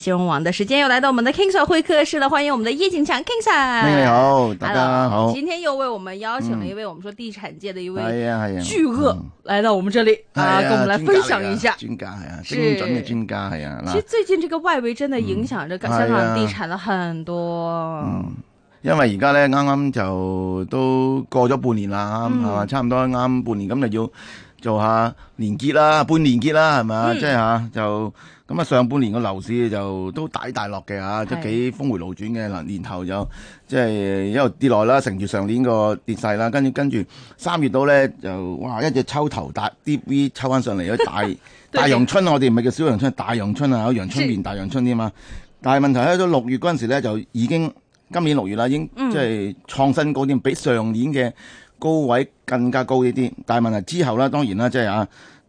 新聞網的時間又來到我們的 King Sir 會客室了，歡迎我們的葉景強 King Sir。 你好，大家好。 今天又為我們邀請了一位我們說地產界的一位巨鱷來到我們這裡跟我們來分享一下。 專家係啊，精準嘅專家係啊。 其實最近這個外圍真的影響着香港地產了很多。 因為而家咧啱啱就都過咗半年啦，係嘛，差唔多啱半年咁就要做下年結啦，半年結啦，係咪？即係嚇就。咁啊，上半年個樓市就都大落嘅嚇，都幾峰回路轉嘅嗱。年頭就即係一路跌落啦，乘住上年個跌勢啦，跟住3月到咧就哇一隻抽頭大 deep V 抽翻上嚟，有大陽春啊！我哋唔係叫小陽春，大陽春啊，有陽春變大陽春添嘛。但係問題喺到6月嗰陣時咧，就已經今年6月啦，已經即係創新高啲，比上年嘅高位更加高呢啲。但係問題之後啦，當然啦，即係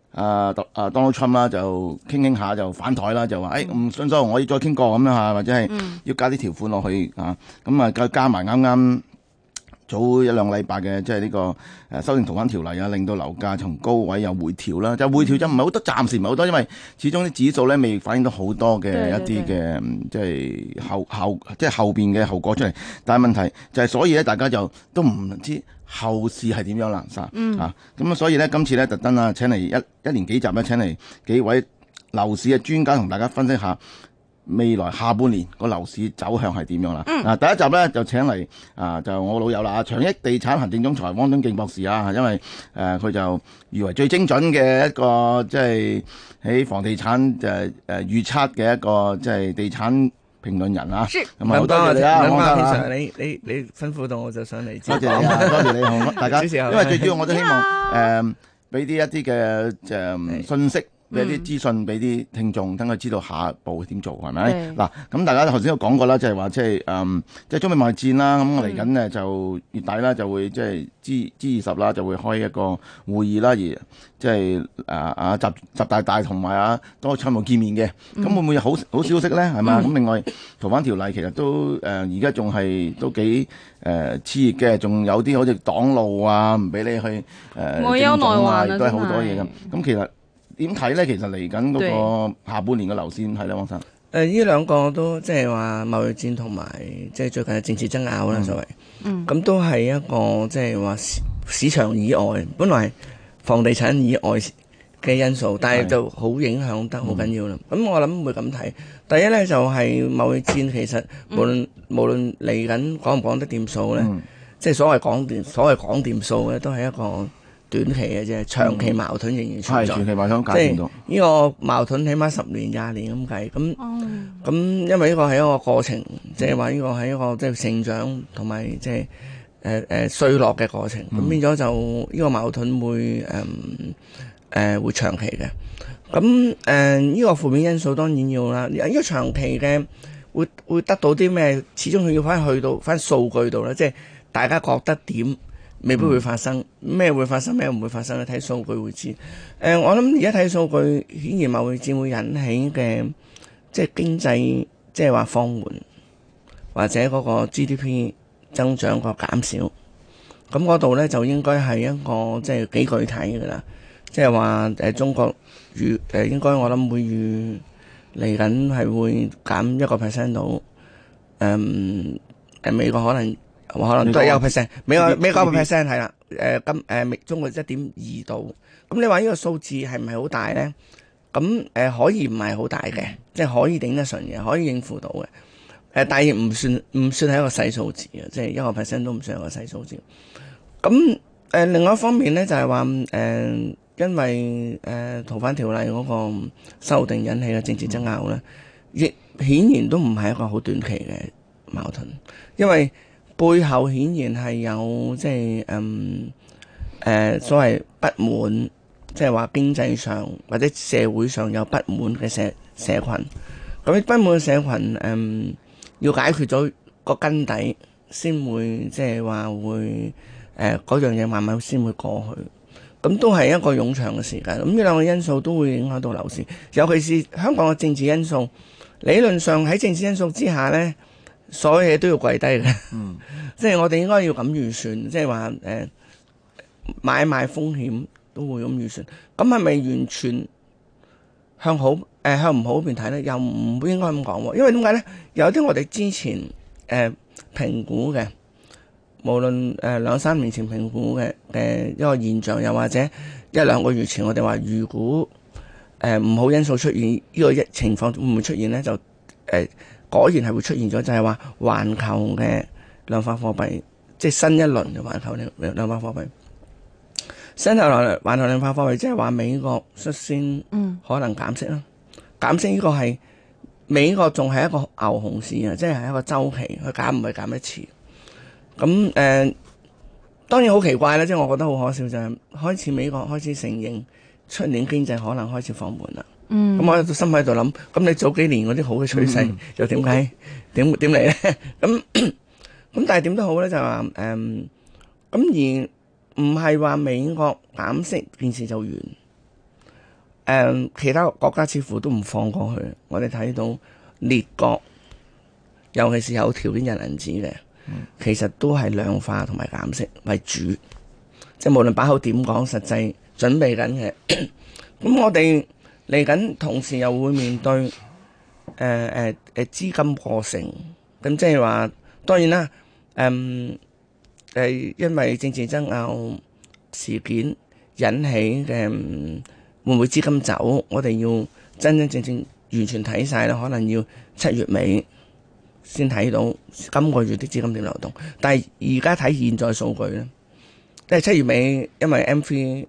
Donald Trump 啦，就傾下就反台啦，就話唔信所我可以再傾過咁樣嚇，或者係要加啲條款落去嚇，咁啊加埋啱啱早1-2禮拜嘅即係呢個修訂逃犯條例啊，令到樓價從高位又回調啦，就回調就唔係好多，暫時唔係好多，因為始終啲指數咧未反映到好多嘅一啲嘅即係後邊嘅後果出嚟，但係問題就係所以咧大家就都唔知後市係點樣啦，咁所以咧今次咧特登請嚟一連幾集咧請嚟幾位樓市嘅專家同大家分析下未來下半年個樓市走向係點樣啦。第一集咧就請嚟就我老友啦，長益地產行政總裁汪敦敬博士啊，因為佢就譽為最精準嘅一個即係喺房地產預測嘅一個即係地產評論人啊，咁好多謝你啊，汪生啊， 你吩咐到我就上嚟， 多謝你啊，多謝你，好大家，因為最主要我都希望俾啲一啲嘅信息，俾啲資訊俾啲聽眾，等佢知道下一步點做，係咪？嗱，咁大家頭先都講過啦，就係話即係中美貿易戰啦，咁我嚟緊呢就月底啦，就會即係 G20啦，就會開一個會議啦，而即係習大大同埋多參謀見面嘅，咁會唔會有好消息咧？係嘛？咁另外逃犯條例其實都而家仲係都幾熾熱嘅，仲有啲好似擋路啊，唔俾你去政總啊，亦都係好多嘢咁。咁其實點睇咧？其實嚟緊嗰個下半年嘅樓市點睇咧，汪生？ 呢兩個都即係話貿易戰同埋即係最近嘅政治爭拗啦，所謂咁都係一個即係話市場以外，本來房地產以外嘅因素，但係就好影響得好緊要啦。咁我諗會咁睇。第一咧就係貿易戰，其實無論嚟緊講唔講得掂數咧，即係所謂講掂數咧，都係一個短期嘅啫，長期矛盾仍然存在。 長期矛盾解決到。 呢個矛盾起碼10年、20年咁計。咁因為呢個係一個過程，即係話呢個係一個即係成長同埋即係衰落嘅過程。咁變咗就呢個矛盾會會長期嘅。咁呢個負面因素當然要啦。呢個長期嘅會得到啲咩？始終佢要去到翻數據度啦，即係大家覺得點？未必會發生，咩會發生，咩唔會發生咧？睇數據會知。我諗而家睇數據，顯然貿易戰會引起嘅，即係經濟，即係話放緩，或者嗰個 GDP 增長個減少。咁嗰度咧就應該係一個即係幾具體嘅啦。即係話中國應該我諗會預嚟緊係會減1% 到。美國可能都係1%，美國1%係啦。中國1.2度。咁你話呢個數字係唔係好大咧？咁可以唔係好大嘅，即係可以頂得順嘅，可以應付到嘅。但係唔算係一個細數字嘅，即係1% 都唔算係一個細數字。咁另外一方面咧就係話因為逃犯條例嗰個修訂引起嘅政治爭拗咧，亦顯然都唔係一個好短期嘅矛盾，因為背後顯然係有即係所謂不滿，即係話經濟上或者社會上有不滿嘅社群。咁不滿嘅社群要解決咗個根底，先會即係話會嗰樣嘢慢慢先會過去。咁都係一個冗長嘅時間。咁呢兩個因素都會影響到樓市，尤其是香港嘅政治因素。理論上喺政治因素之下呢，所有嘢都要跪低嘅。即係我哋應該要咁預算，即係話買賣風險都會咁預算。咁係咪完全向好向唔好嗰邊睇咧，又唔應該咁講喎。因為點解咧？有啲我哋之前評估嘅，無論2-3年前評估嘅一個現象，又或者1-2個月前我哋話預估唔好因素出現，呢個情況會唔會出現咧？就果然係會出現咗，就係話環球嘅量化貨幣，即係新一輪嘅環球量化貨幣。新一輪環球量化貨幣，即係話美國率先可能減息啦。減息呢個係美國仲係一個牛熊市啊，即係一個周期，佢減唔係減一次。咁當然好奇怪啦，即係我覺得好可笑就係開始美國開始承認出年經濟可能開始放緩啦。咁我心喺度諗，咁你早幾年嗰啲好嘅趨勢又點解點嚟咧？咁但係點都好咧，就係話咁而唔係話美國減息件事就完。其他國家似乎都唔放過去。我哋睇到列國，尤其是有條件印銀紙嘅，其實都係量化同埋減息為主。即係無論把口點講，實際準備緊嘅。咁我哋嚟緊同時又會面對資金過剩。咁即係話，當然啦，因為政治爭拗事件引起嘅會唔會資金走？我哋要真真正正完全睇晒啦，可能要7月尾先睇到今個月啲資金點流動。但係而家睇現在數據咧，即係7月尾，因為 M3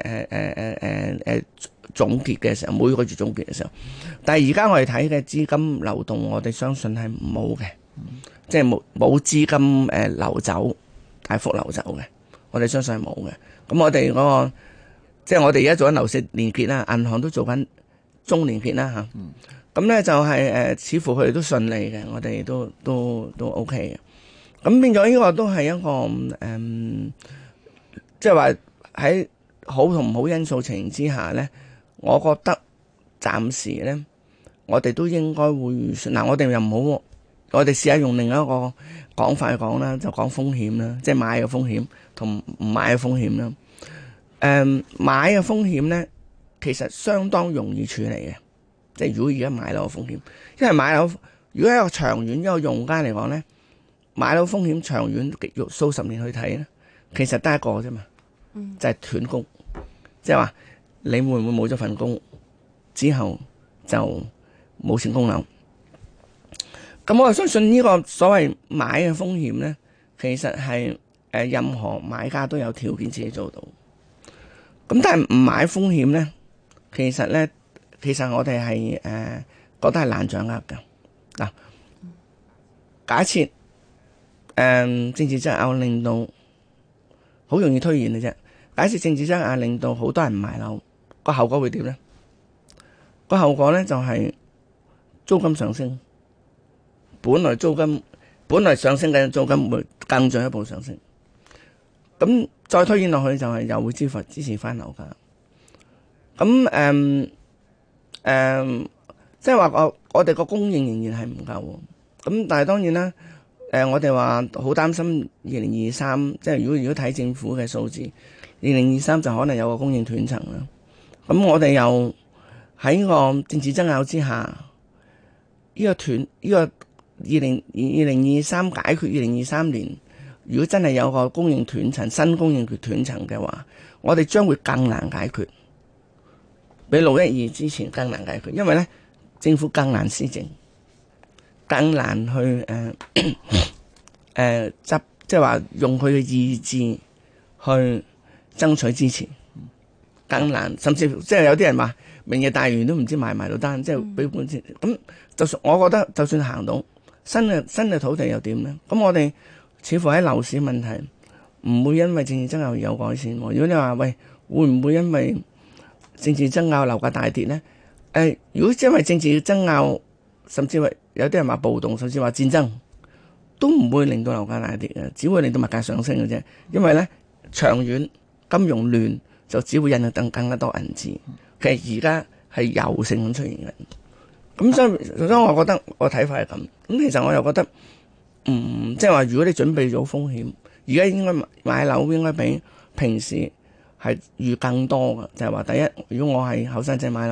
總結嘅時候，每個月總結嘅時候，但係而家我哋睇嘅資金流動，我哋相信係冇嘅，即係冇資金流走，大幅流走嘅，我哋相信係冇嘅。咁我哋嗰個即係我哋而家做緊樓市連結啦，銀行都做緊中連結啦嚇。咁咧就係似乎佢哋都順利嘅，我哋都 OK 嘅。咁變咗呢個都係一個即係話喺好同唔好因素情形之下咧，我覺得暫時咧，我哋都應該會預算。嗱，我哋又唔好，我哋試下用另一個講法去講啦，就講風險啦，即係買嘅風險同唔買嘅風險啦。買嘅風險咧，其實相當容易處理嘅，即係如果而家買樓嘅風險，因為買樓如果係一個長遠一個用家嚟講咧，買樓風險長遠數十年去睇咧，其實得一個啫嘛，就係斷供，即係話你會唔會冇咗份工之後就冇錢供樓？咁我相信呢個所謂買嘅風險咧，其實係任何買家都有條件自己做到。咁但係唔買風險咧，其實我哋係覺得係難掌握嘅。嗱，假設政治爭拗令到好容易推演嘅啫。假設政治爭拗令到好多人唔買樓，個後果會點咧？個後果咧就係租金上升，本來上升嘅租金會更進一步上升。咁再推演落去就係又會支持翻樓價。咁即係話我哋個供應仍然係唔夠。咁但係當然啦，我哋話好擔心2023，即係如果睇政府嘅數字，2023就可能有個供應斷層啦。咁我哋又喺個政治爭拗之下，呢個2023解決2023年。如果真係有個供應斷層、新供應斷層嘅話，我哋將會更難解決，比612之前更難解決，因為咧政府更難施政，更難去即係話用佢嘅意志去爭取支持，更難，甚至即係有啲人話明日大嶼都唔知買唔買到單，即係俾本錢。咁就算我覺得，就算行到新嘅土地又點咧？咁我哋似乎喺樓市問題唔會因為政治爭拗而有改善。如果你話喂，會唔會因為政治爭拗樓價大跌呢？如果因為政治爭拗，甚至話有啲人話暴動，甚至話戰爭，都唔會令到樓價大跌嘅，只會令到物價上升嘅啫。因為呢，長遠金融亂就只會引到更加多銀紙。其實而家係有性咁出現嘅。咁所以我覺得我睇法係咁。咁其實我又覺得。即係話，如果你準備咗風險，而家應該買樓應該比平時係預更多嘅。就係話，第一，如果我係後生仔買樓，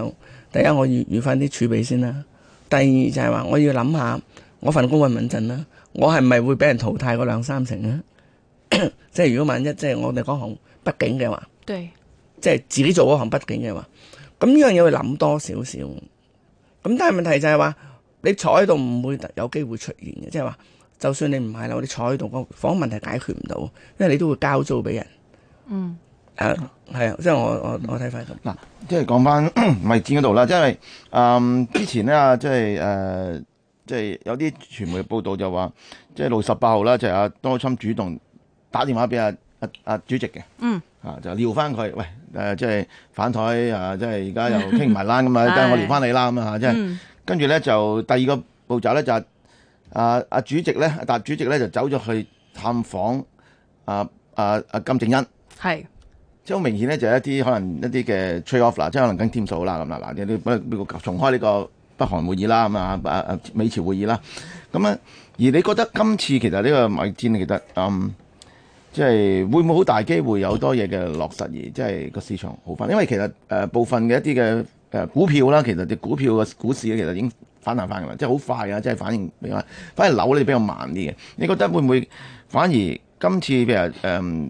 第一我要預翻啲儲備先啦，第二就係話我要諗下我份工穩唔穩陣啦，我係咪會俾人淘汰嗰2-3成咧？即係如果萬一即係我哋嗰行不景嘅話， 對， 即係自己做嗰行不景嘅話，咁呢樣嘢會諗多少少。咁但係問題就係話你坐喺度唔會有機會出現嘅，即係話就算你唔係啦，我哋坐喺度個房問題解決唔到，因為你都會交租俾人。 嗯。 係啊，即係我睇法咁。 嗱，即係講翻米戰嗰度啦，即係之前咧即係有啲傳媒報道就話，即係6月18號啦，就係阿 Donald Trump 主動打電話俾阿主席嘅，就撩翻佢，喂即係反台即係而家又傾唔埋欄咁啊，跟我撩翻你啦咁啊，即係跟住咧就第二個步驟咧就係阿主席咧，阿習主席咧就走咗去探訪金正恩，係。即係好明顯咧，就係一啲可能一啲嘅 trade off 啦，即係可能跟添數啦咁啦，嗱，你重開呢個北韓會議啦，咁啊美朝會議啦，咁啊，而你覺得今次其實呢個貿易戰其實即係會唔會好大機會有多嘢嘅落實而即係個市場好翻？因為其實部分嘅一啲嘅股票啦，其實啲股票嘅股市咧，其實已經反彈翻㗎啦，即係好快啊，即係反應比較，反而樓咧比較慢啲嘅。你覺得會唔會反而今次譬如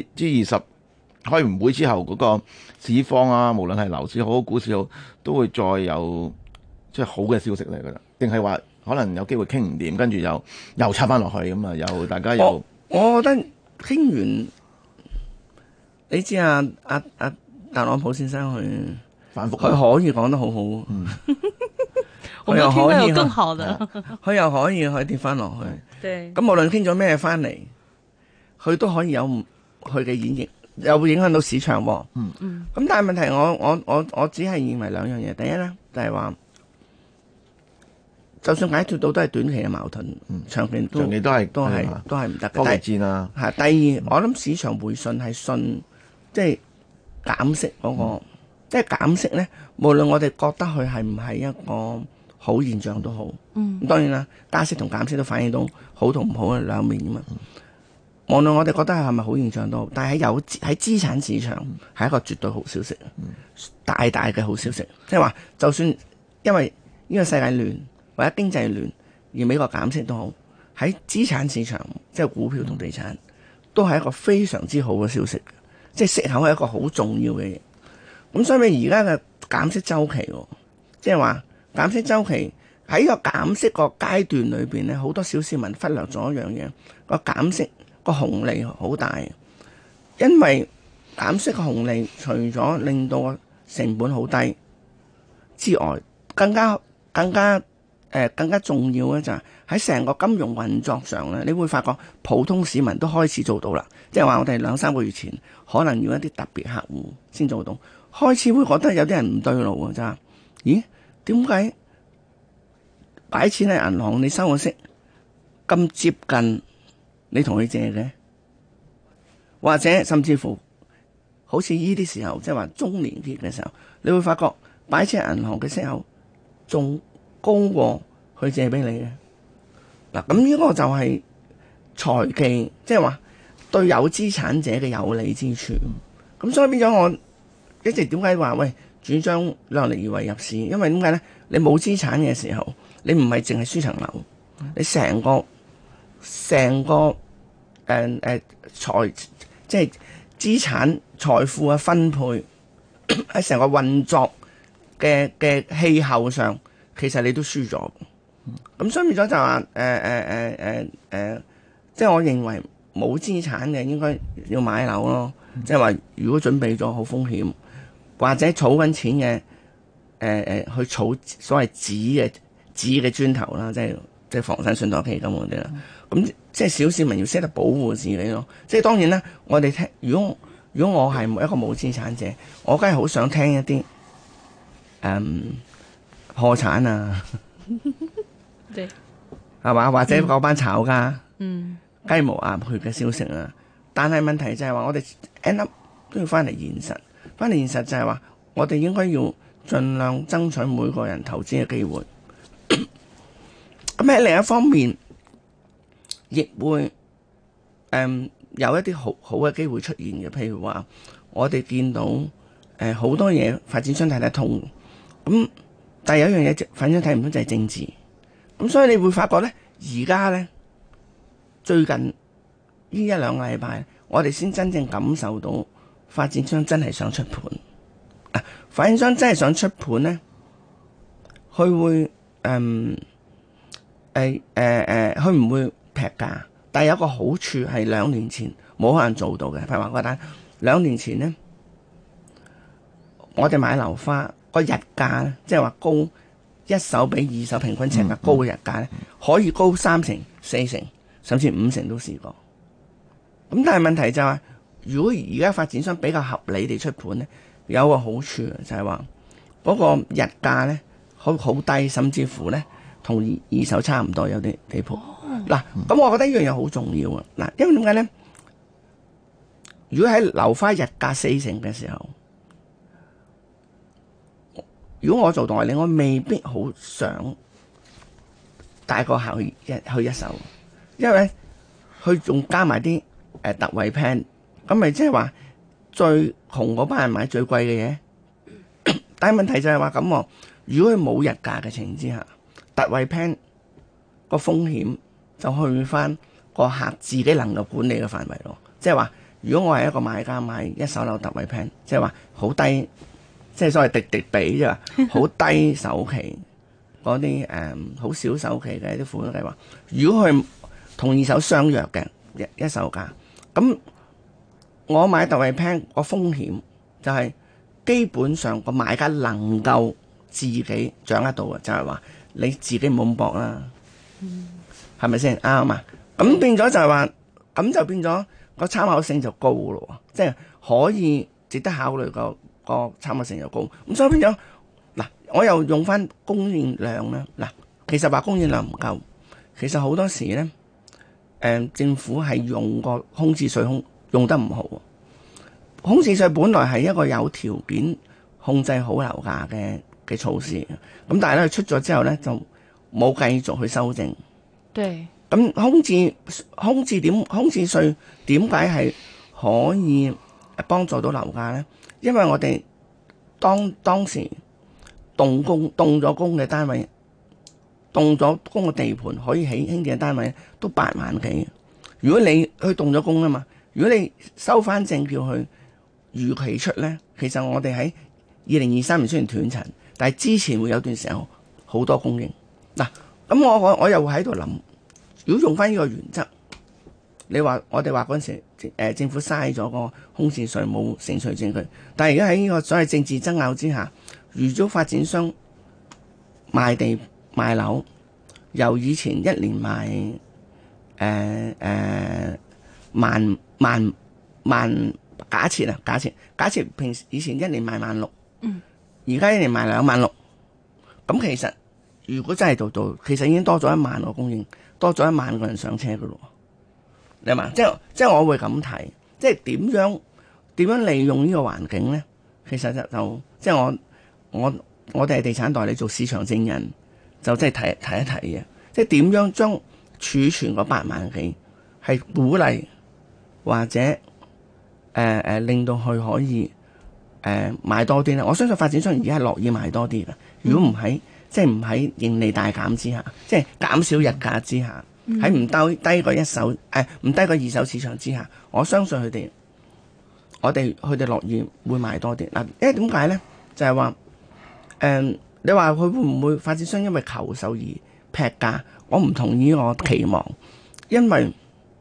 G20開完會之後嗰個市況啊，無論係樓市好、股市好，都會再有即係好嘅消息嚟㗎啦？定係話可能有機會傾唔掂，跟住又插翻落去咁啊？又大家又我覺得傾完，你知特朗普先生佢反覆， 佢可以講得好好， 我們聽到有更好的， 佢又可以跌翻落去。 對， 咁無論傾咗咩翻嚟，佢都可以有佢嘅演繹。又會影響到市場喎。咁但係問題我只係認為兩樣嘢。第一咧就係話，就算解決到都係短期嘅矛盾，長期都係唔得嘅。 科技戰啊。 第二，我諗市場回信係信即係減息嗰個，即係減息咧。無論我哋覺得佢係唔係一個好現象都好。咁當然啦，加息同減息都反映到好同唔好嘅兩面㗎嘛。無論我哋覺得係咪好現象都好，但係喺資產市場係一個絕對好消息，大嘅好消息。即係話，就算因為呢個世界亂或者經濟亂而美國減息都好，喺資產市場即係股票同地產都係一個非常之好嘅消息。即係息口係一個好重要嘅嘢。咁所以而家嘅減息週期，即係話減息週期喺個減息個階段裏邊咧，好多小市民忽略咗一樣嘢，個減息個紅利好大，因為減息嘅紅利除咗令到個成本好低之外，更加重要咧就係喺成個金融運作上咧，你會發覺普通市民都開始做到啦。即係話我哋2-3個月前可能要一啲特別客戶先做到，開始會覺得有啲人唔對路啊！就係咦，點解擺錢喺銀行你收嘅息咁接近你同佢借嘅，或者甚至乎好似呢啲時候，即係話中年期嘅時候，你會發覺擺錢喺銀行嘅息口仲高過佢借俾你嘅。嗱，咁呢個就係財技，即係話對有資產者嘅有利之處。咁所以變咗我一直點解話喂主張量力而為入市？因為點解咧？你冇資產嘅時候，你唔係淨係輸層樓，你成個即係資產財富嘅分配喺成個運作嘅氣候上，其實你都輸咗。咁所以變咗就話即係我認為冇資產嘅應該要買樓咯。即係話如果準備咗好風險，或者儲緊錢嘅去儲所謂紙嘅磚頭啦，即係房產信託基金嗰啲啦。咁即係小市民要識得保護自己咯。即係當然啦，我哋聽如果我係一個冇資產者，我梗係好想聽一啲破產啊，係嘛？或者嗰班炒家雞毛鴨血嘅消息啊。但係問題就係話，我哋 end up 都要翻嚟現實。翻嚟現實就係話，我哋應該要盡量爭取每個人投資嘅機會。咁喺另一方面，亦會有一啲好嘅機會出現嘅。譬如話，我哋見到好多嘢發展商睇得通， 咁但係有一樣嘢反正睇唔到就係政治。咁所以你會發覺咧，而家咧最近呢一兩個禮拜，我哋先真正感受到發展商真係想出盤。發展商真係想出盤咧，佢會佢唔會劈價，但係有個好處係2年前冇可能做到嘅。譬如話嗰單2年前咧，我哋買樓花個日價咧，即係話高一手比二手平均尺價高嘅日價咧，可以高3成、4成，甚至5成都試過。咁但係問題就係，如果而家發展商比較合理地出盤咧，有個好處就係話嗰個日價咧好低，甚至乎咧同二手差唔多，有啲地鋪。嗱，咁我覺得呢樣嘢好重要啊！嗱，因為點解咧？如果喺樓花日價4成嘅時候，如果我做代理，我未必好想帶個客去一手，因為佢仲加埋啲特惠 plan， 咁咪即係話最窮嗰班人買最貴嘅嘢。但係問題就係話咁喎，如果佢冇日價嘅情形之下，特惠 plan 個風險就去翻個客自己能夠管理嘅範圍咯。即係話，如果我係一個買家買一手樓特惠 plan， 即係話好低。即係所謂滴比啫，好低首期嗰啲好少首期嘅啲付款計劃。如果佢同二手相約嘅一手價，咁我買特惠 plan 個風險就係基本上個買家能夠自己掌握到嘅，就係話你自己唔好咁搏啦，係咪先啱啊？咁變咗就係話，咁就變咗個參考性就高咯，即係可以值得考慮個參考性又高，咁所以變咗嗱，我又用翻供應量啦。嗱，其實話供應量唔夠，其實好多時咧，政府係用個空置稅用得唔好。空置稅本來係一個有條件控制好樓價嘅措施，咁但係咧出咗之後咧就冇繼續去修正。 對。 咁空置稅點解係可以幫助到樓價咧？因為我哋當時動咗工嘅單位，動咗工嘅地盤可以起興建嘅單位都8萬幾。如果你去動咗工啊嘛，如果你收翻正叫佢預期出咧，其實我哋喺2023年雖然斷層，但係之前會有段時候好多供應。嗱，咁我又喺度諗，如果用翻呢個原則。你話我哋話嗰陣時，政府嘥咗個空置稅冇成稅證據，但係而家喺呢個所謂政治爭拗之下，如果發展商賣地賣樓，由以前一年賣萬，假設平時以前一年賣16000，而家一年賣26000，咁其實如果真係做，其實已經多咗1萬個供應，多咗1萬個人上車噶咯。你嘛？即係我會咁睇，即係點樣利用呢個環境咧？其實就即係我哋係地產代理做市場證人，就即係睇一睇嘅，即係點樣將儲存嗰8萬幾係鼓勵或者令到佢可以買多啲咧。我相信發展商而家係樂意買多啲嘅。如果唔喺即係唔喺盈利大減之下，即係減少日價之下。喺唔低過一手唔低過二手市場之下，我相信佢哋樂意會買多啲嗱。因為點解咧？就係話你話佢會唔會發展商因為求售而劈價？我唔同意我期望，因為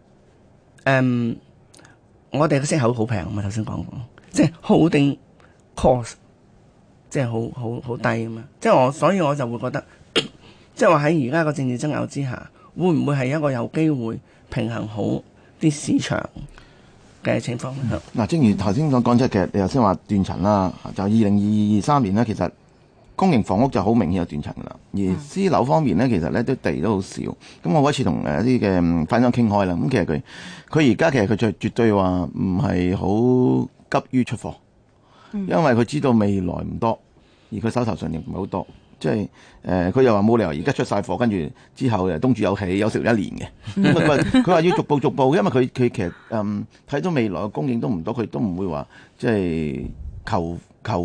我哋嘅息口好平啊嘛，頭先講過，即係 holding cost 即係好低啊嘛，所以我就會覺得，即係話喺而家個政治爭拗之下。會唔會係一個有機會平衡好啲市場嘅情況？ 嗱，正如頭先所講，即係其實你頭先話斷層啦，就2023年呢，其實公營房屋就好明顯有斷層噶啦，而私樓方面呢，其實呢都地都好少。咁我嗰次同一啲嘅發展商傾開啦，咁其實佢而家其實佢就絕對話唔係好急於出貨，因為佢知道未來唔多，而佢手頭上亦唔係好多。即係佢又話冇理由而家出晒貨，跟住之後東主有喜有食1年嘅。佢話要逐步，因為佢其實睇到未來嘅供應都唔多，佢都唔會話即係求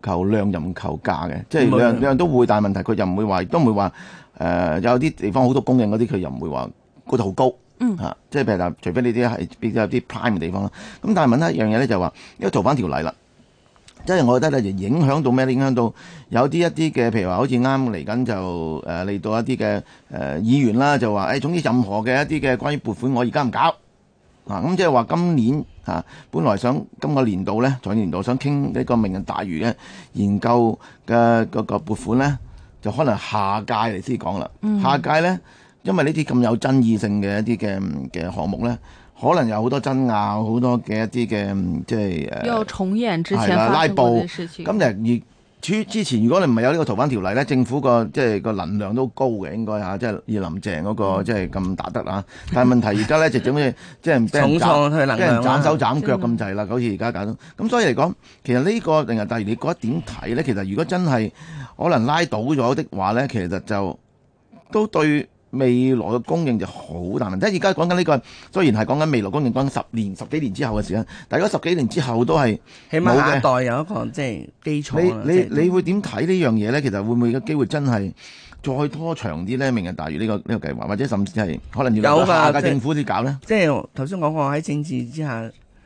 求量又唔求價嘅，即係量都會，但係問題佢又唔會話，都唔會話有啲地方好多供應嗰啲，佢又唔會話高得好高。即係譬如除非呢啲係比較啲 prime 嘅地方啦。咁但係問題一樣嘢咧，就話因為逃犯條例啦，即係我覺得咧，就影響到咩？影響到有一啲嘅，譬如話好似啱嚟緊就嚟到一啲嘅議員啦，就話總之任何嘅一啲嘅關於撥款，我而家唔搞咁即係話今年本來想今個年度咧，財政年度想傾呢個明日大嶼嘅研究嘅嗰個撥款咧，就可能下屆嚟先講啦。下屆咧。因為呢啲咁有爭議性嘅一啲嘅項目咧，可能有好多爭拗，好多嘅一啲嘅即係又重演之前發生過嘅事情。 咁之前如果你唔係有呢個逃犯條例咧，政府個即係個能量都高嘅，應該即係以林鄭嗰個即係咁打得啊。但係問題而家咧就整好似即係俾人斬手斬腳咁滯啦，好似而家搞到。咁所以嚟講，其實呢個明日大嶼你覺得點睇咧？其實如果真係可能拉倒咗的話咧，其實就都對未來嘅供應就好大問題。而家講緊呢個，雖然係講緊未來供應，講10幾年之後嘅時間，但係如果10幾年之後都係起碼下一代有一個即係基礎。 你會點睇呢樣嘢咧？其實會唔會有機會真係再拖長啲咧？明日大嶼呢個計劃，或者甚至係可能要下屆政府先搞咧？ 即係頭先講過喺政治之下，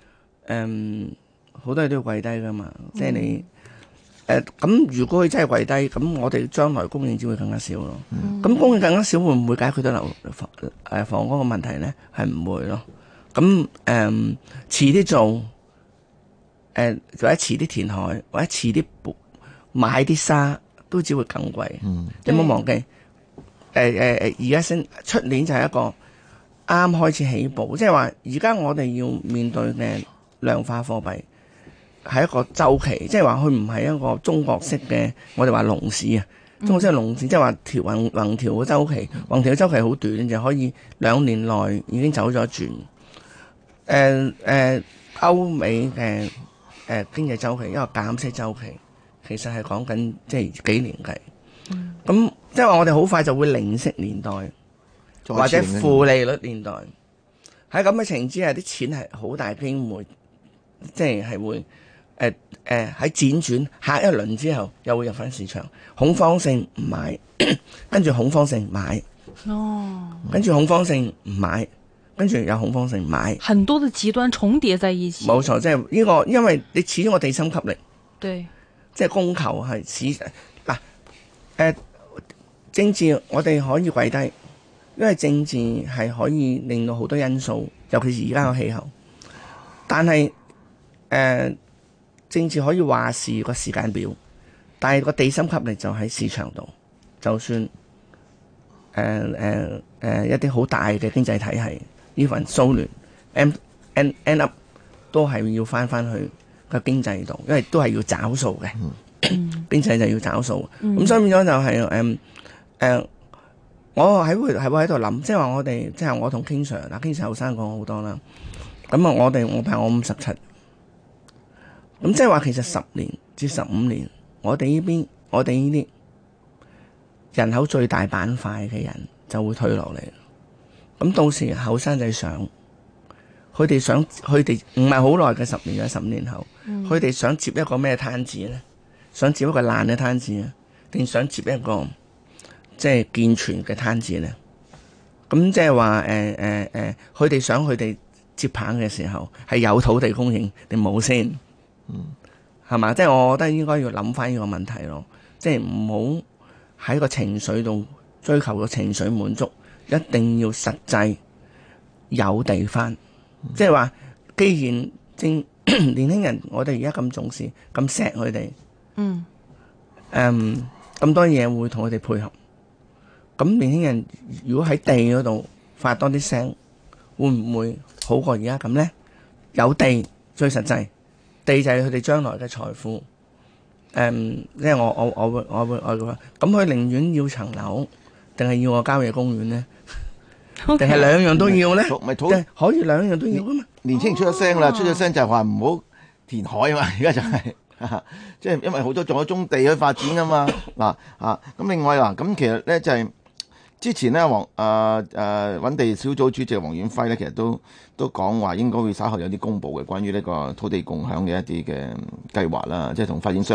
好多嘢都要跪低噶嘛。即係你。咁如果佢真係跪低，咁我哋將來供應只會更加少咯。咁供應更加少，會唔會解決到房屋個問題咧？係唔會咯。咁遲啲做，或者遲啲填海，或者遲啲買啲沙，都只會更貴。你唔好忘記，而家出年就係一個啱開始起步，即係話而家我哋要面對嘅量化貨幣。係一個週期，即係話佢唔係一個中國式嘅，我哋話龍市啊，中國式係龍市，即係話橫調嘅週期，橫調嘅週期好短，就可以2年內已經走咗一轉。歐美嘅經濟週期，一個減息週期，其實係講緊即係幾年計。咁即係話我哋好快就會零息年代，或者負利率年代。喺咁嘅情形之下，啲錢係好大機會，即係會。喺輾轉下一輪之後，又會入翻市場，恐慌性唔買，跟住恐慌性買，跟住恐慌性唔買，跟住有恐慌性買， 很多的極端重疊在一起。 冇錯，即係呢個，因為你始終個地心吸力， 對， 即係供求係政治我哋可以跪低，因為政治係可以令到好多因素，尤其是而家個氣候，但係政治可以話事個時間表，但係個地心吸力就喺市場度。就算一啲好大嘅經濟體系，呢份蘇聯 end up 都係要翻去個經濟度，因為都係要找數嘅。經濟就要找數。咁所以變咗就係我會喺度諗，即係話我哋即係我同 King Sir 嗱，King Sir 後生講好多啦。咁啊，我朋友我57。咁即係話其實10年至15年，我哋呢啲人口最大板塊嘅人就會退落嚟。咁到時後生仔佢哋唔係好耐嘅10年或者15年後，佢哋想接一個咩攤子咧？想接一個爛嘅攤子啊，定想接一個即係健全嘅攤子咧？咁即係話佢哋想佢哋接棒嘅時候係有土地供應定冇先？係嘛？即係我覺得應該要諗翻呢個問題咯，即係唔好喺個情緒度追求個情緒滿足，一定要實際有地翻。即係話，既然年輕人，我哋而家咁重視、咁錫佢哋，咁多嘢會同佢哋配合。咁年輕人如果喺地嗰度發多啲聲，會唔會好過而家咁呢？有地最實際。地就係佢哋將來嘅財富，即係我會咁佢寧願要層樓，定係要個郊野公園咧？定係兩樣都要咧？即係可以兩樣都要噶嘛？ 年青人出咗聲啦，出咗聲就係話唔好填海啊嘛！而家就係即係因為好多仲有棕地去發展啊嘛。咁另外咁其實咧就係之前咧揾地小組主席黃遠輝咧，其實都講話應該會稍後有啲公佈嘅關於呢個土地共享嘅一啲嘅計劃啦，即係同發展商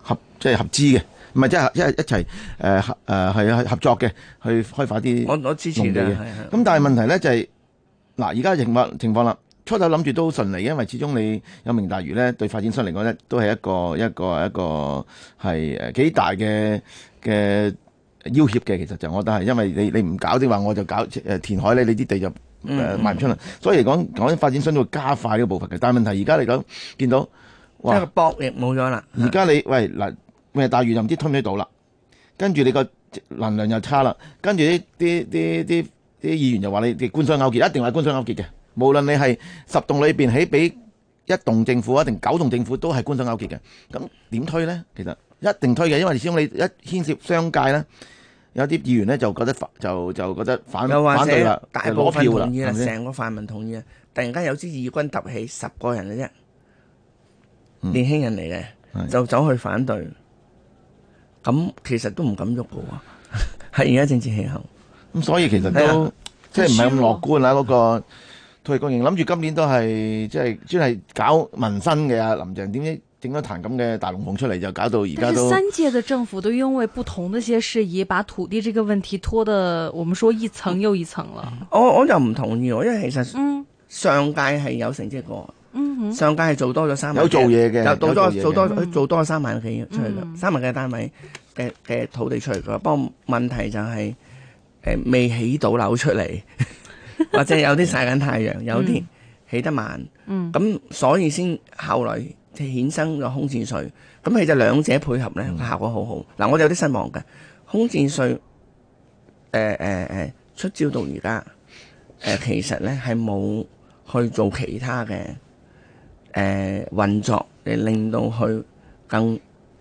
即係合資嘅，唔係即係一齊係合作嘅去開發啲我支持嘅。 咁但係問題咧就係嗱，而家情況啦，初頭諗住都好順利，因為始終你有明大嶼咧，對發展商嚟講咧都係一個係幾大嘅要挾嘅。其實就我覺得係，因為你唔搞的話，我就搞填海咧，你啲地就賣唔出嚟。所以嚟講發展商都會加快呢個步伐嘅。但係問題而家嚟講見到即係個博弈冇咗啦。 而家你喂嗱，明大嶼就唔知推唔推到啦，跟住你個能量又差啦，跟住啲議員就話你哋官商勾結，一定係官商勾結嘅。無論你係10棟裏邊起俾1棟政府，定9棟政府，都係官商勾結嘅。咁點推呢？其實一定推嘅，因為始終你一牽涉商界咧，有啲議員咧就覺得就覺得反對啦， 大部分同意啦， 係咪成個泛民同意啊！突然間有支義軍突起10個人嘅啫，年輕人嚟嘅，就走去反對。咁其實都唔敢喐嘅喎，係而家政治氣候。 咁所以其實都即係唔係咁樂觀啦。嗰個土地供應諗住今年都係即係專係搞民生嘅啊，林鄭點知整咗壇咁嘅大龍鳳出嚟，就搞到而家都。 但是3屆的政府都因為不同的一些事宜，把土地這個問題拖得我們說一層又一層了。 我就唔同意喎，因為其實上屆係有成績過。上屆係做多咗3萬， 有做嘢嘅， 做多咗3萬幾出嚟嘅，3萬幾單位嘅土地出嚟嘅。不過問題就係未起到樓出嚟，或者有啲曬緊太陽，有啲起得慢。咁所以先後來就衍生咗空置稅。咁其實兩者配合咧，效果好好。嗱，我哋有啲失望嘅空置稅，出招到而家，其實咧係冇去做其他嘅運作嚟令到佢更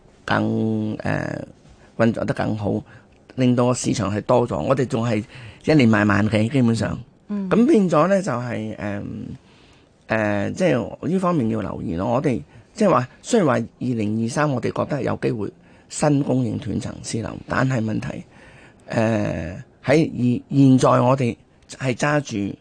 運作得更好，令到個市場係多咗。我哋仲係1年賣萬幾，基本上。咁變咗咧就係即係呢方面要留意咯。我哋即係話，雖然話2023我哋覺得有機會新供應斷層私樓，但係問題喺現在我哋係揸住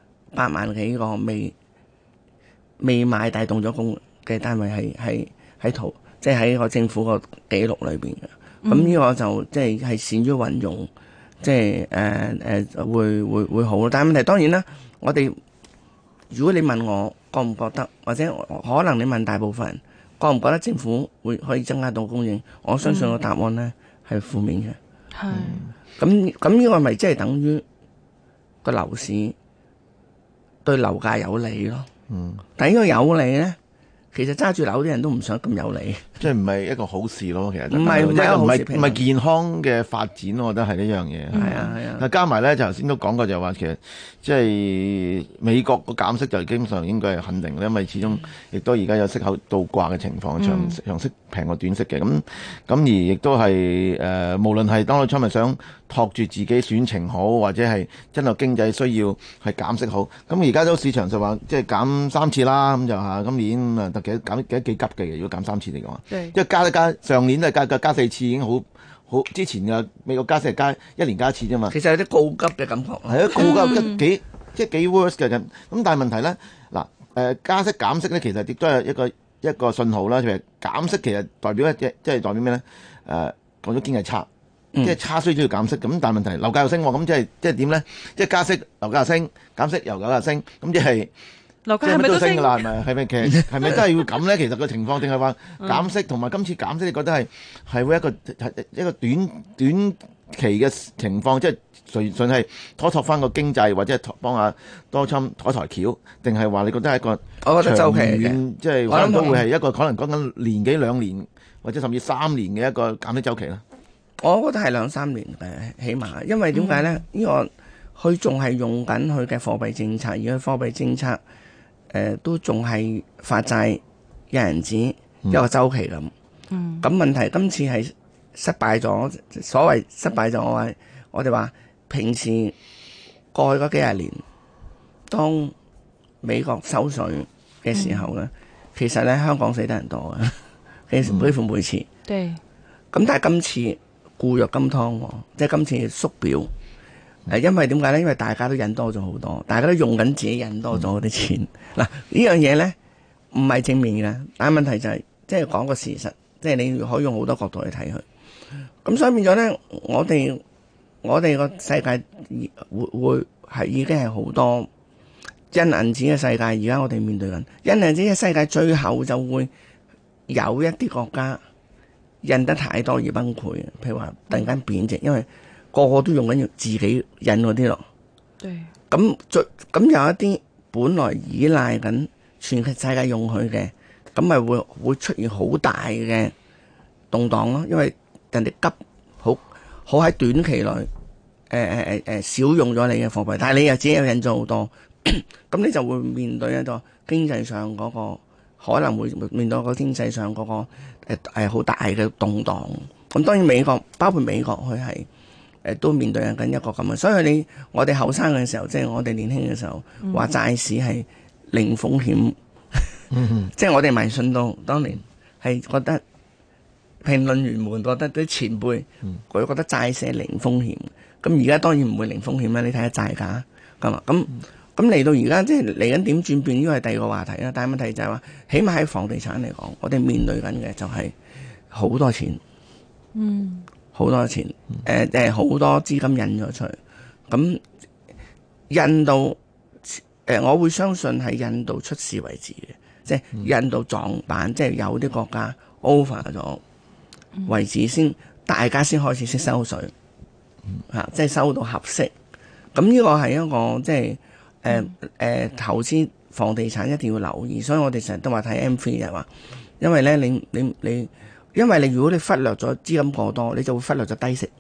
8萬幾個未買大動咗工嘅單位喺圖，即係喺個政府個記錄裏邊嘅。咁呢個就即係善於運用，即係會好。但係問題當然啦，我哋如果你問我覺唔覺得，或者可能你問大部分人覺唔覺得政府可以增加到供應，我相信個答案咧係負面嘅。係。咁呢個咪即係等於個樓市對樓價有利咯。但係呢個有利咧，其實揸住樓啲人都唔想咁有利，即係唔係一個好事咯。其實唔係健康嘅發展，我覺得係呢樣嘢。 係啊。 但加埋咧，就頭先都講過，就話其實即係美國個減息就基本上應該係肯定，因為始終亦都而家有息口倒掛嘅情況，長息平過短息嘅。咁而亦都係無論係當初咪想托住自己選情好，或者係真係經濟需要係減息好。咁而家都市場就話即係減3次啦，咁就嚇今年啊得減幾急嘅。如果減3次嚟講，即係加上年都係加4次已經好之前嘅美國加息係加1年加1次啫嘛。 其實有啲告急嘅感覺， 係啊，告急即係幾 worse 嘅咁。咁但係問題咧，嗱加息減息咧，其實亦都係一個信號啦。譬如減息其實代表即係代表咩咧？講咗經濟差。即係差需要減息，咁但係問題樓價又升，咁即係點咧？即係加息樓價又升，減息樓價又升，咁即係樓價係咪都升㗎啦？ 係咪其實係咪真係要咁咧？其實個情況定係話減息同埋今次減息，你覺得係會一個短期嘅情況，即係純係拖翻個經濟，或者係幫下多侵抬橋，定係話你覺得係一個我覺得週期嘅， 即係可能都會係一個可能講緊年幾2年，或者甚至3年嘅一個減息週期啦。 我覺得係2-3年嘅起碼，因為點解咧？呢個佢仲係用緊佢嘅貨幣政策，而佢貨幣政策都仲係發債、印銀紙一個週期咁。咁問題今次係失敗咗，所謂失敗咗，我哋話平時過去嗰幾廿年，當美國收稅嘅時候咧，其實咧香港死得人多嘅，幾乎每次。 對。 咁但係今次固若金湯喎，即係今次縮表，因為點解咧？因為大家都印多咗好多，大家都用緊自己印多咗嗰啲錢。嗱，呢樣嘢咧唔係正面嘅，但係問題就係即係講個事實， 即係你可以用好多角度去睇佢。咁所以變咗咧，我哋個世界會係已經係好多印銀紙嘅世界。而家我哋面對緊印銀紙嘅世界，最後就會有一啲國家印得太多而崩潰。譬如話突然間貶值，因為個個都用緊要自己印嗰啲咯。 對。 咁有一啲本來依賴緊全世界用佢嘅，咁咪會出現好大嘅動盪咯。因為人哋急好喺短期內少用咗你嘅貨幣，但係你又自己又印咗好多，咁你就會面對一個經濟上嗰個可能會面對一個經濟上嗰個好大嘅動盪。咁當然包括美國佢係。都面對緊一個咁嘅，所以我哋後生嘅時候，即係我哋年輕嘅時候，話債市係零風險，即係我哋迷信到當年係覺得評論員們覺得啲前輩佢覺得債市係零風險，咁而家當然唔會零風險啦。你睇下債價咁啊，咁嚟到而家即係嚟緊點轉變，呢個係第二個話題啦。但係問題就係話，起碼喺房地產嚟講，我哋面對緊嘅就係好多錢。好多錢，好多資金印咗出去，咁印到我會相信係印到出事為止嘅，即係印到撞板，即係有啲國家 over 咗為止先，大家先開始識收水，即係收到合適。咁呢個係一個即係投資房地產一定要留意，所以我哋成日都話睇 M3 就係話，因為咧因為如果你忽略咗資金過多，你就會忽略咗低息。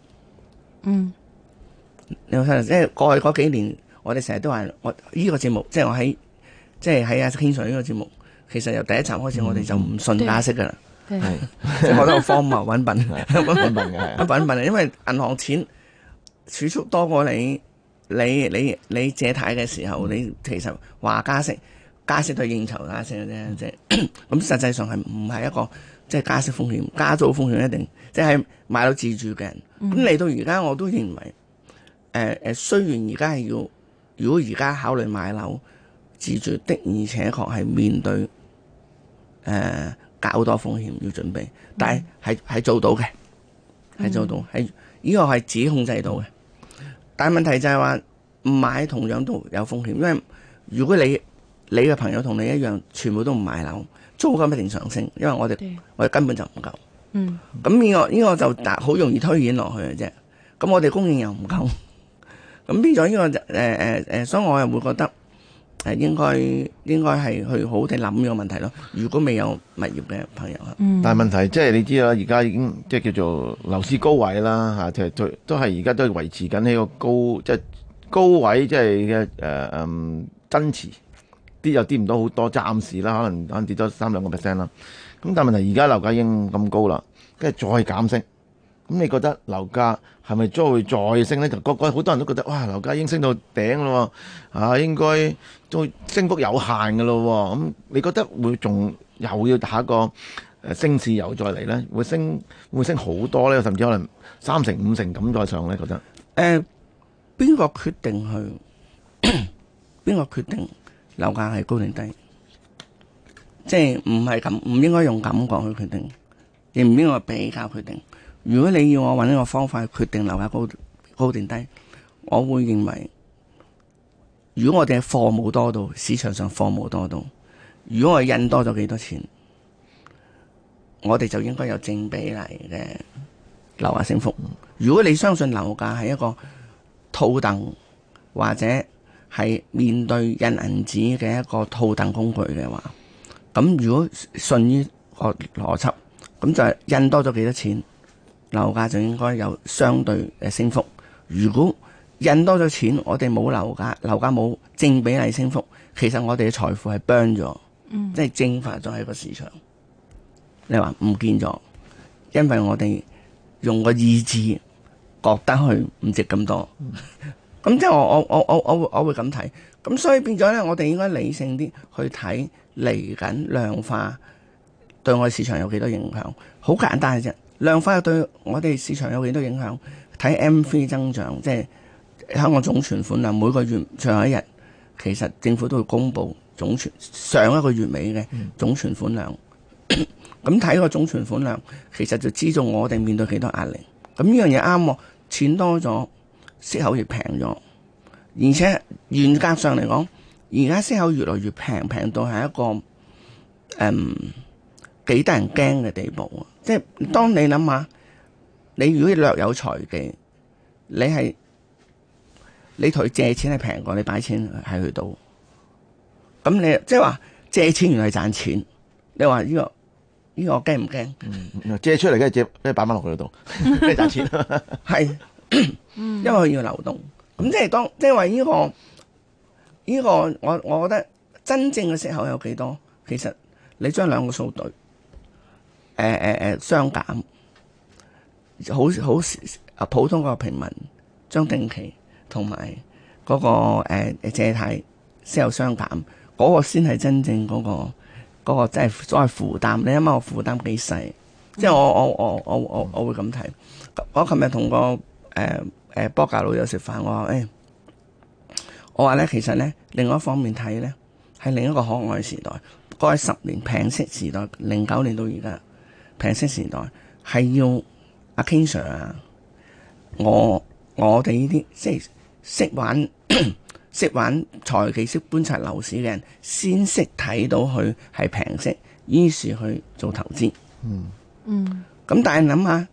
你會忽略，即係過去嗰幾年，我哋成日都話，我呢個節目，即係我喺阿天 Sir 呢個節目，其實由第一集開始，我哋就唔信加息噶啦。即係我覺得好荒謬，揾笨，揾笨嘅，揾笨。因為銀行錢儲蓄多過你借貸嘅時候，你其實話加息都係應酬加息嘅啫，即係咁實際上係唔係一個。即係加息風險、加租風險一定，即係買到自住嘅人。咁嚟到而家，我都認為，雖然而家係要，如果而家考慮買樓自住的，而且確係面對較多風險要準備，但係做到嘅，係做到，係呢個係自己控制到嘅。但係問題就係話唔買同樣都有風險，因為如果你嘅朋友同你一樣，全部都唔買樓。租金一定上升，因為我哋根本就唔夠。咁呢個就好容易推演落去嘅啫。咁我哋供應又唔夠，咁變咗呢個所以我又會覺得應該係去好好地諗呢個問題咯。如果未有物業嘅朋友， 但係問題即係你知啦，而家已經即係叫做樓市高位啦嚇，即係都係而家都係維持緊呢個高位，即係嘅增持。啲又跌唔到好多，暫時啦，可能跌咗3-2% 啦。咁但係問題而家樓價已經咁高啦，跟住再減息，咁你覺得樓價係咪將會再升咧？就好多人都覺得哇，樓價已經升到頂咯，應該都升幅有限㗎咯。咁你覺得會仲又要下一個升市又再嚟咧？會升好多咧？甚至可能3成5成咁再上咧？覺得邊個決定去？邊個決定？樓價係高定低，即係唔應該用感覺去決定，亦唔應該比較決定。如果你要我揾一個方法去決定樓價高定低，我會認為，如果我哋嘅貨冇多到，市場上貨冇多到，如果我印多咗幾多錢，我哋就應該有正比例嘅樓價升幅。如果你相信樓價係一個套戥或者係面對印銀紙嘅一個套戥工具嘅話，咁如果順於個邏輯，咁就係印多咗幾多錢，樓價就應該有相對嘅升幅。如果印多咗錢，我哋冇樓價冇正比例升幅，其實我哋嘅財富係 burn 咗，即係蒸發咗喺個市場。你話唔見咗，因為我哋用個意志覺得佢唔值咁多。咁即係我會咁睇，咁所以變咗咧，我哋應該理性啲去睇嚟緊量化對我哋市場有幾多影響。好簡單嘅啫，量化對我哋市場有幾多影響？睇 M3 增長，即係香港總存款量，每個月最後一日，其實政府都會公布上一個月尾嘅總存款量。 咁睇個總存款量，其實就知道我哋面對幾多壓力。咁呢樣嘢啱喎，錢多咗，息口亦平咗，而且嚴格上嚟講，而家息口越來越平，平到係一個幾得人驚嘅地步啊！即係當你諗下，你如果略有財技，你同佢借錢係平過你擺錢喺佢度，咁你即係話借錢原來係賺錢，你話呢個我驚唔驚？ 借出嚟嘅借，俾擺翻落佢度，咩賺錢？ 係，因為佢要流動。咁即係話呢個，我覺得真正嘅息口有幾多？其實你將兩個數對，相減，好普通個平民將定期同埋嗰個借貸息口相減，嗰個先係真正嗰個即係所謂負擔。你諗下我負擔幾細？即係我會咁睇。我琴日同個波格老友食飯，我話咧，其實咧另外一方面睇咧，係另一個可愛時代。過去10年平息時代，09年到而家平息時代係要阿 King Sir 啊，我哋呢啲即係識玩財技、識觀察樓市嘅人，先識睇到佢係平息，於是去做投資。咁但係諗下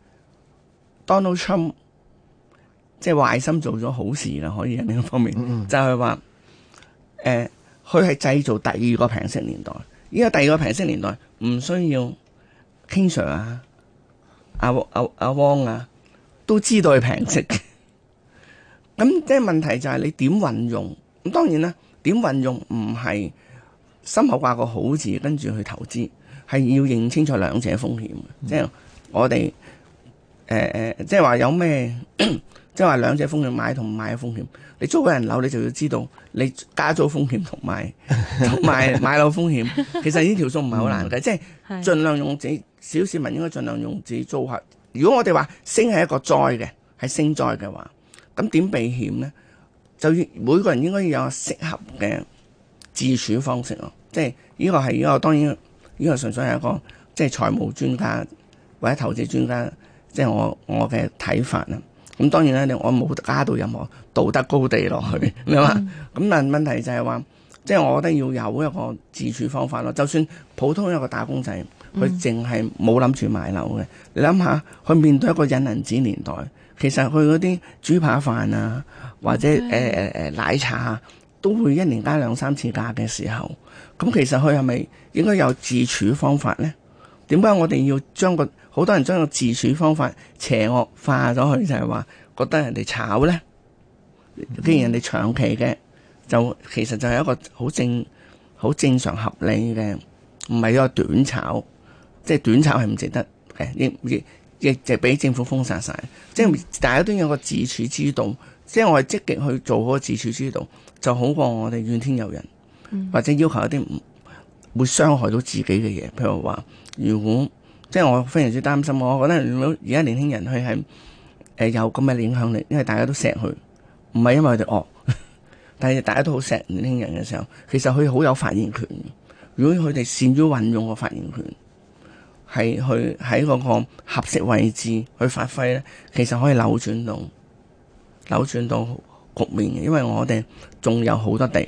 Donald Trump 即係壞心做咗好事啦，可以喺另一方面，就係話佢係製造第二個平息年代。呢個第二個平息年代唔需要 King Sir 啊、阿汪啊都知道係平息嘅。咁即係問題就係你點運用？咁當然啦，點運用唔係心口掛個好字跟住去投資，係要認清楚兩者風險。即係我哋即係話有咩，即係話兩者風險，買同唔買嘅風險。你租個人樓，你就要知道你加租風險同埋買樓風險。其實呢條數唔係好難嘅，即係盡量用自己小市民應該盡量用自己租客。如果我哋話升係一個災嘅，係升災嘅話，咁點避險呢？就要每個人應該要有適合嘅自處方式咯。即係呢個係呢個當然呢個純粹係一個即係財務專家或者投資專家，即係我嘅睇法啦。咁當然咧，我冇加到任何道德高地落去，你話咁？但問題就係話，即係我覺得要有一個自處方法咯。就算普通一個打工仔，佢淨係冇諗住買樓嘅，你諗下，佢面對一個印銀紙年代，其實佢嗰啲豬扒飯啊，或者奶茶啊，都會一年加2、3次價嘅時候，咁其實佢係咪應該有自處方法咧？點解我哋要將好多人將個自處方法邪惡化咗去，就係話覺得人哋炒咧？既然人哋長期嘅，就其實就係一個好正常合理嘅，唔係一個短炒。即係短炒係唔值得嘅，亦就俾政府封殺晒。即係大家都有個自處之道，即係我係積極去做好個自處之道，就好過我哋怨天尤人，或者要求一啲唔會傷害到自己嘅嘢。譬如話，如果即係我非常之擔心，我覺得如果而家年輕人佢係有咁嘅影響力，因為大家都錫佢，唔係因為佢哋惡，但係大家都好錫年輕人嘅時候，其實佢好有發言權。如果佢哋善於運用個發言權，係去喺嗰個合適位置去發揮咧，其實可以扭轉到局面嘅，因為我哋仲有好多地，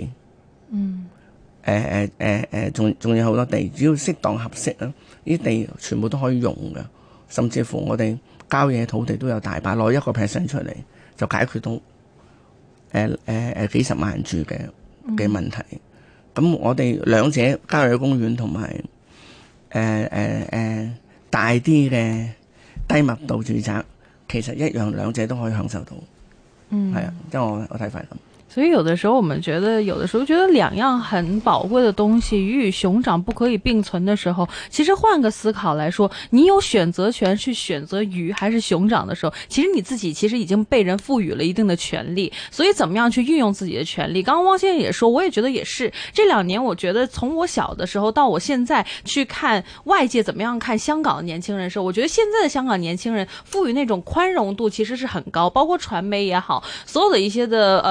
仲有好多地，只要適當合適啦，呢啲地全部都可以用嘅，甚至乎我哋郊野土地都有大把，攞1% 出嚟就解決到幾十萬人住嘅問題。咁我哋兩者郊野公園同埋大啲嘅低密度住宅，其實一樣，兩者都可以享受到。係啊，即係我睇法咁。 所以有的時候我們覺得，兩樣很寶貴的東西魚與熊掌不可以並存的時候，其實換個思考來說，你有選擇權去選擇魚還是熊掌的時候，其實你自己已經被人賦予了一定的權利。所以怎麼樣去運用自己的權利？剛剛汪先生也說，我也覺得也是。這2年我覺得從我小的時候到我現在去看外界怎麼樣看香港的年輕人的時候，我覺得現在的香港年輕人賦予那種寬容度其實是很高，包括傳媒也好，所有的一些的方面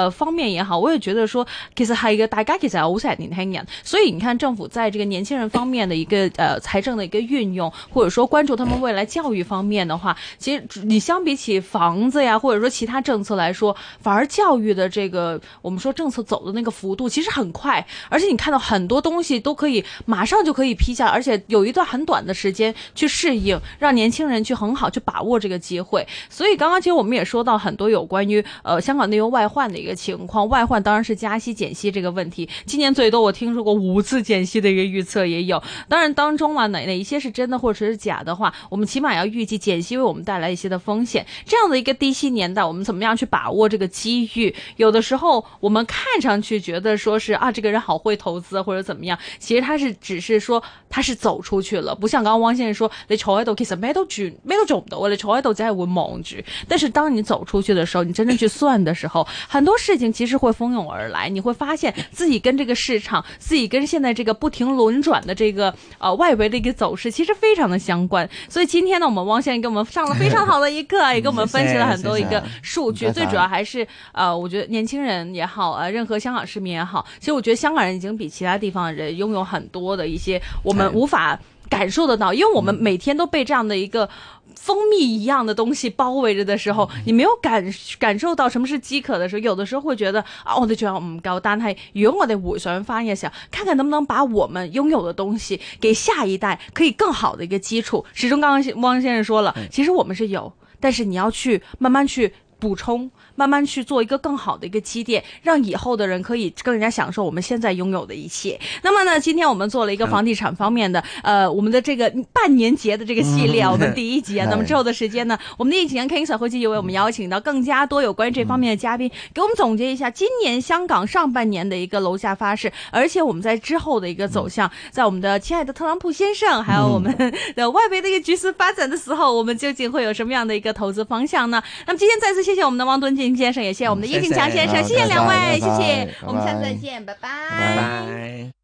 面也好，我也覺得說其實係嘅，大家其實係好錫年輕人，所以你看政府在這個年輕人方面的一個財政的一個運用，或者說關注他們未來教育方面的話，其實你相比起房子呀，或者說其他政策來說，反而教育的這個我們說政策走的那個幅度其實很快，而且你看到很多東西都可以馬上就可以批下，而且有一段很短的時間去適應，讓年輕人去很好去把握這個機會。所以剛剛其實我們也說到很多有關於香港內憂外患的一個情況，外患當然是加息減息這個問題，今年最多我聽說過5次減息的一個預測也有，當然當中哪一些是真的或者是假的話，我們起碼要預計減息為我們帶來一些的風險。這樣的一個低息年代，我們怎麼樣去把握這個機遇？有的時候我們看上去覺得說是啊，這個人好會投資或者怎麼樣，其實他是只是說他是走出去了，不像剛剛汪先生說你坐喺度其實咩都做唔到，你坐喺度只係會望住。但是當你走出去的時候，你真正去算的時候，很多事情其實會蜂擁而來，你會發現自己跟這個市場，自己跟現在這個不停輪轉的這個外圍的一個走勢其實非常的相關。所以今天呢，我們汪先生給我們上了非常好的一課，也給我們分析了很多一個數據，最主要還是我覺得年輕人也好，任何香港市民也好，其實我覺得香港人已經比其他地方的人擁有很多的一些我們無法感受得到，因為我們每天都被這樣的一個蜂蜜一樣的東西包圍着的時候，你沒有感受到什麼是飢渴的時候，有的時候會覺得啊，我哋仲有唔夠，但係如果我哋回想翻嘅時候，看看能不能把我們擁有的東西給下一代可以更好的一個基礎。始終剛剛汪先生說了，其實我們是有，但是你要去慢慢去補充，慢慢去做一個更好的一個積澱，讓以後的人可以更加享受我們現在擁有的一切。那麼呢，今天我們做了一個房地產方面的我們的這個半年節的這個系列，我們第一集啊。那麼之後的時間呢，我們的疫情 King Sir 會繼續為我們邀請到更加多有關於這方面的嘉賓，給我們總結一下今年香港上半年的一個樓價發勢，而且我們在之後的一個走向，在我們的親愛的特朗普先生，還有我們的外圍的一個局勢發展的時候，我們究竟會有什麼樣的一個投資方向呢？那麼今天再次謝謝我們的汪敦敬先生，也謝謝我們的葉慶強先生，謝謝兩位，謝謝，我們下次再見，拜拜。